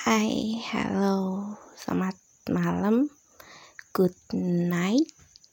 Hai, halo, selamat malam, good night.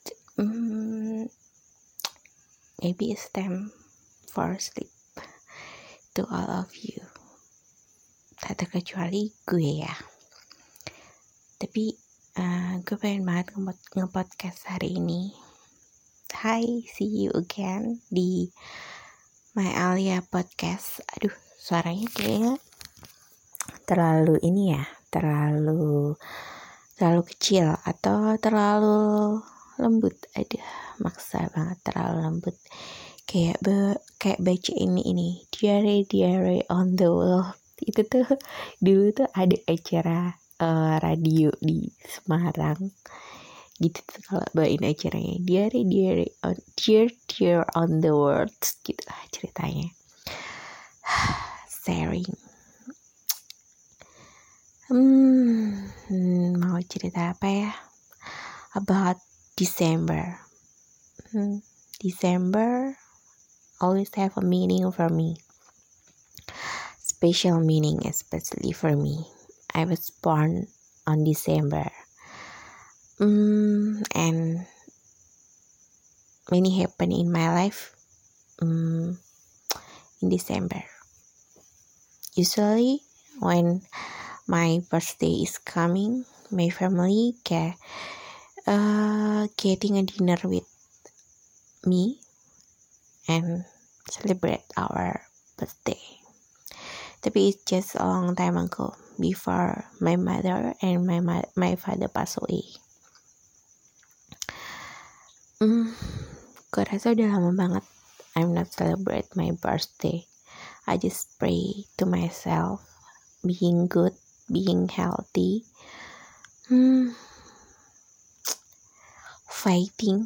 Maybe it's time for sleep to all of you. Tak terkecuali gue ya. Tapi gue pengen banget nge-podcast hari ini. Hai, see you again di My Alia Podcast. Aduh, suaranya kayaknya terlalu ini ya, terlalu kecil atau terlalu lembut. Aduh, maksa banget terlalu lembut. Kayak baca ini Diary on the Wall. Itu tuh dulu tuh ada acara radio di Semarang gitu tuh, kalau bawain acaranya Diary on Dear on the World gitu lah ceritanya. Sharing. Mau cerita apa ya? About December. December always have a meaning for me. Special meaning especially for me. I was born on December. And many happen in my life in December. Usually when my birthday is coming, my family getting a dinner with me and celebrate our birthday. Tapi it's just a long time ago before my mother and my father pass away. Gue rasa udah lama banget I'm not celebrate my birthday. I just pray to myself being good, being healthy, fighting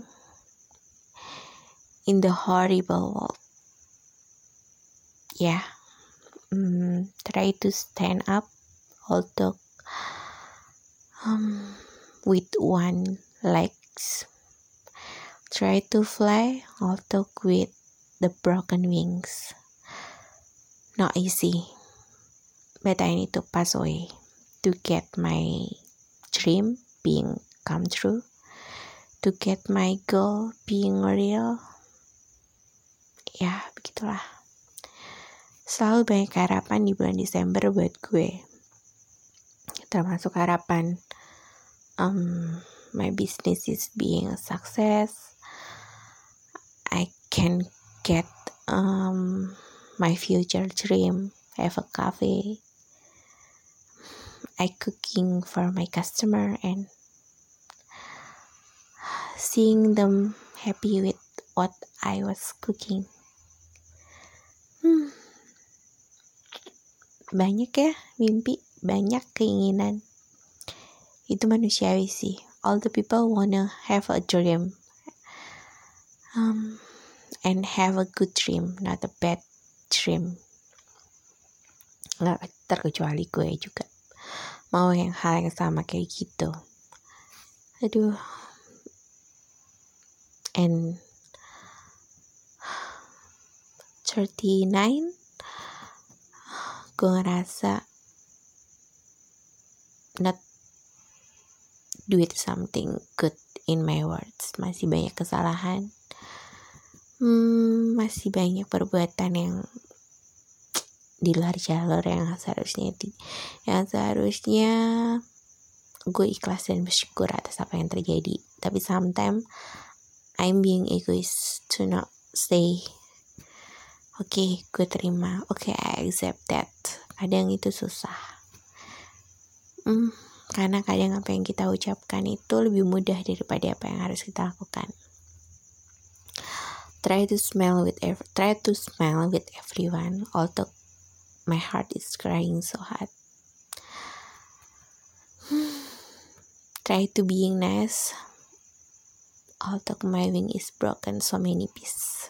in the horrible world. Yeah. Try to stand up although with one legs. Try to fly although with the broken wings. Not easy, but I need to pass away to get my dream being come true, to get my goal being real. Ya, begitulah. Selalu banyak harapan di bulan Desember buat gue. Termasuk harapan my business is being a success. I can get my future dream, have a cafe. I cooking for my customer and seeing them happy with what I was cooking. Banyak ya mimpi, banyak keinginan. Itu manusiawi sih. All the people wanna have a dream, and have a good dream, not a bad dream. Nggak terkecuali gue juga mau hal yang sama kayak gitu. Aduh. And 39 gue ngerasa not do it something good in my words. Masih banyak kesalahan, masih banyak perbuatan yang di luar jalur yang seharusnya gue ikhlas dan bersyukur atas apa yang terjadi. Tapi sometimes I'm being egoist to not say okay, gue terima, okay, I accept that. Kadang itu susah, karena kadang apa yang kita ucapkan itu lebih mudah daripada apa yang harus kita lakukan. Try to smile with everyone, although my heart is crying so hard. Try to being nice, although my wing is broken so many pieces.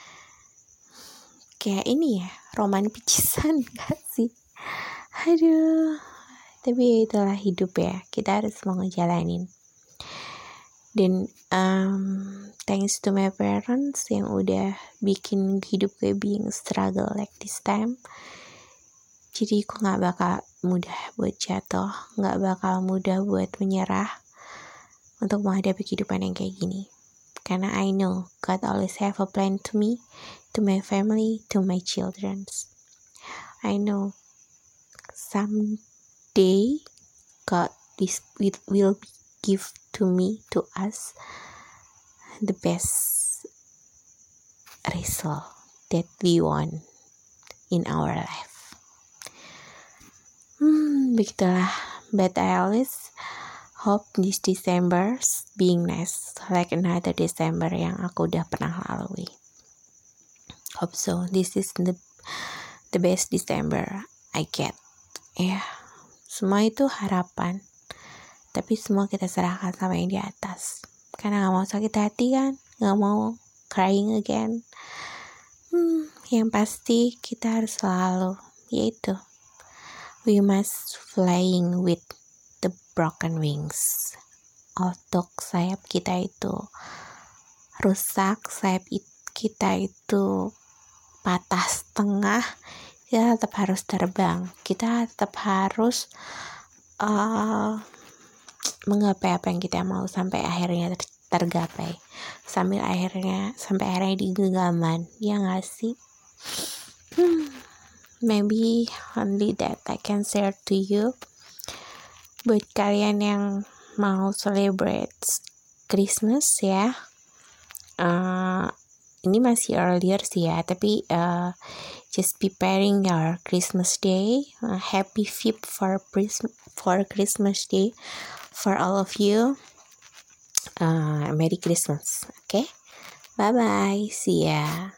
Kayak ini ya, roman picisan gak sih? Aduh, tapi itulah hidup ya, kita harus mau ngejalanin. Dan thanks to my parents yang udah bikin hidup gue being struggle like this time. Jadi aku gak bakal mudah buat jatuh, gak bakal mudah buat menyerah untuk menghadapi kehidupan yang kayak gini. Karena I know God always have a plan to me, to my family, to my children. I know someday God will give to me, to us, the best result that we want in our life. Begitulah. But I always hope this December being nice, like another December yang aku udah pernah lalui. Hope so. This is the best December I get. Ya, semua itu harapan. Tapi semua kita serahkan sama yang di atas. Karena gak mau sakit hati kan, gak mau crying again. Yang pasti kita harus selalu, yaitu we must flying with the broken wings. Untuk sayap kita itu rusak, sayap kita itu patah setengah, kita tetap harus terbang. Kita tetap harus menggapai apa yang kita mau sampai akhirnya tergapai. Sampai akhirnya di genggaman. Ya gak sih? Maybe only that I can share to you. Buat kalian yang mau celebrate Christmas ya, ini masih earlier sih ya, tapi just preparing your Christmas day. Happy Fifth for Christmas Day for all of you. Merry Christmas. Okay, bye bye, see ya.